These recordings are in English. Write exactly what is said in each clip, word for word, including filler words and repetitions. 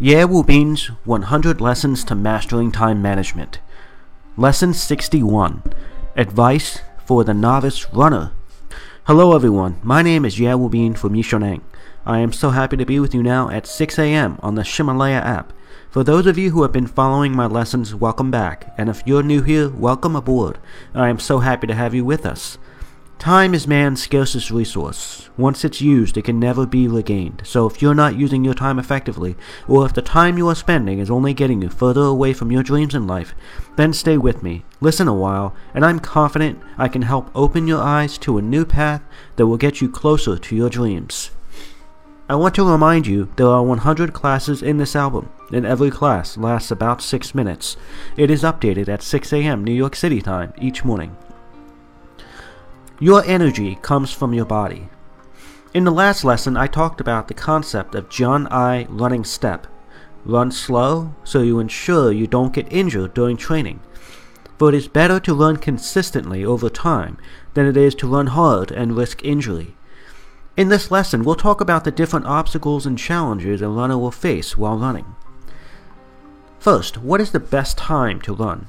Ye Wu Bin's one hundred Lessons to Mastering Time Management. Lesson sixty-one. Advice for the Novice Runner. Hello everyone, my name is Ye Wu Bin from Yishuneng. I am so happy to be with you now at six a.m. on the Himalaya app. For those of you who have been following my lessons, welcome back, and if you're new here, welcome aboard. I am so happy to have you with us. Time is man's scarcest resource. Once it's used, it can never be regained. So if you're not using your time effectively, or if the time you are spending is only getting you further away from your dreams in life, then stay with me, listen a while, and I'm confident I can help open your eyes to a new path that will get you closer to your dreams. I want to remind you there are one hundred classes in this album, and every class lasts about six minutes. It is updated at six a.m. New York City time each morning. Your energy comes from your body. In the last lesson, I talked about the concept of John I running step. Run slow so you ensure you don't get injured during training. For it is better to run consistently over time than it is to run hard and risk injury. In this lesson, we'll talk about the different obstacles and challenges a runner will face while running. First, what is the best time to run?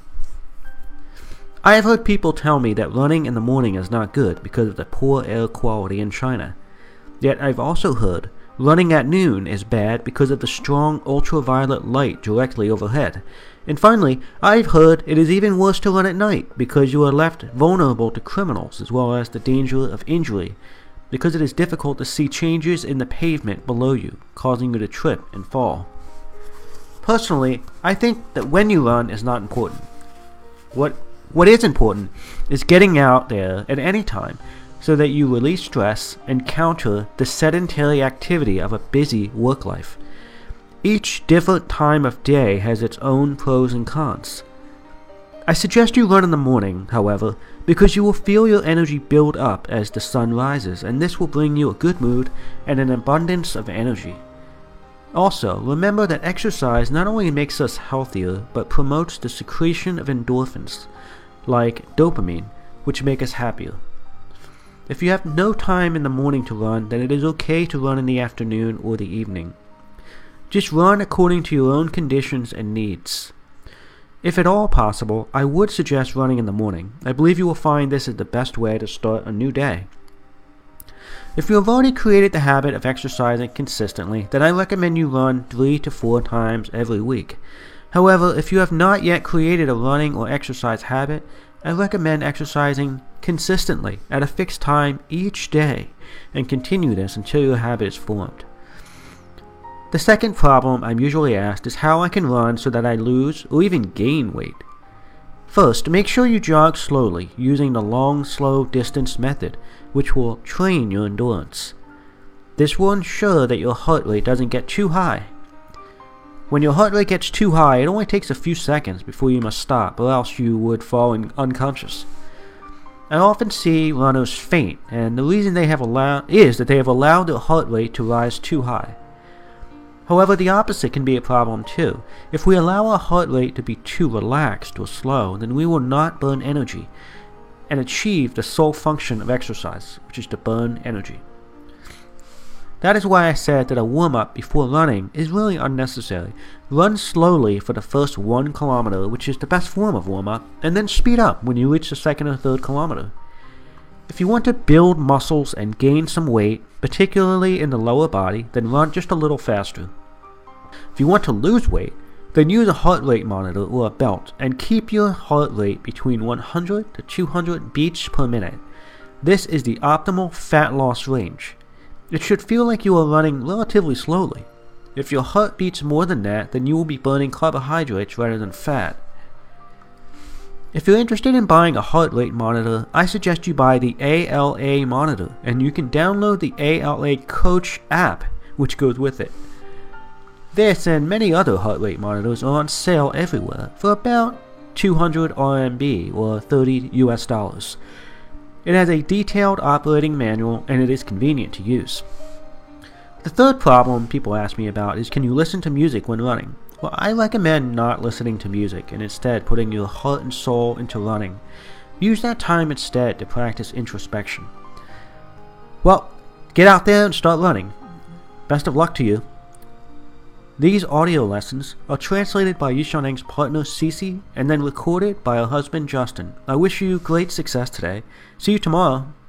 I have heard people tell me that running in the morning is not good because of the poor air quality in China. Yet I've also heard running at noon is bad because of the strong ultraviolet light directly overhead. And finally, I've heard it is even worse to run at night because you are left vulnerable to criminals as well as the danger of injury, because it is difficult to see changes in the pavement below you, causing you to trip and fall. Personally, I think that when you run is not important. What What is important is getting out there at any time so that you release stress and counter the sedentary activity of a busy work life. Each different time of day has its own pros and cons. I suggest you run in the morning, however, because you will feel your energy build up as the sun rises, and this will bring you a good mood and an abundance of energy. Also, remember that exercise not only makes us healthier, but promotes the secretion of endorphins, like dopamine, which make us happier. If you have no time in the morning to run, then it is okay to run in the afternoon or the evening. Just run according to your own conditions and needs. If at all possible, I would suggest running in the morning. I believe you will find this is the best way to start a new day. If you have already created the habit of exercising consistently, then I recommend you run three to four times every week. However, if you have not yet created a running or exercise habit, I recommend exercising consistently at a fixed time each day and continue this until your habit is formed. The second problem I'm usually asked is how I can run so that I lose or even gain weight. First, make sure you jog slowly using the long, slow distance method, which will train your endurance. This will ensure that your heart rate doesn't get too high. When your heart rate gets too high, it only takes a few seconds before you must stop, or else you would fall in unconscious. I often see runners faint, and the reason they have allowed is that they have allowed their heart rate to rise too high. However, the opposite can be a problem too. If we allow our heart rate to be too relaxed or slow, then we will not burn energy and achieve the sole function of exercise, which is to burn energy. That is why I said that a warm-up before running is really unnecessary. Run slowly for the first one kilometer, which is the best form of warm-up, and then speed up when you reach the second or third kilometer. If you want to build muscles and gain some weight, particularly in the lower body, then run just a little faster. If you want to lose weight, then use a heart rate monitor or a belt and keep your heart rate between one hundred to two hundred beats per minute. This is the optimal fat loss range. It should feel like you are running relatively slowly. If your heart beats more than that, then you will be burning carbohydrates rather than fat. If you're interested in buying a heart rate monitor, I suggest you buy the A L A monitor, and you can download the A L A Coach app, which goes with it. This and many other heart rate monitors are on sale everywhere for about two hundred R M B or thirty U S dollars. It has a detailed operating manual and it is convenient to use. The third problem people ask me about is, can you listen to music when running? Well, I recommend not listening to music and instead putting your heart and soul into running. Use that time instead to practice introspection. Well, get out there and start running. Best of luck to you. These audio lessons are translated by Yishaneng's partner Cece and then recorded by her husband Justin. I wish you great success today. See you tomorrow.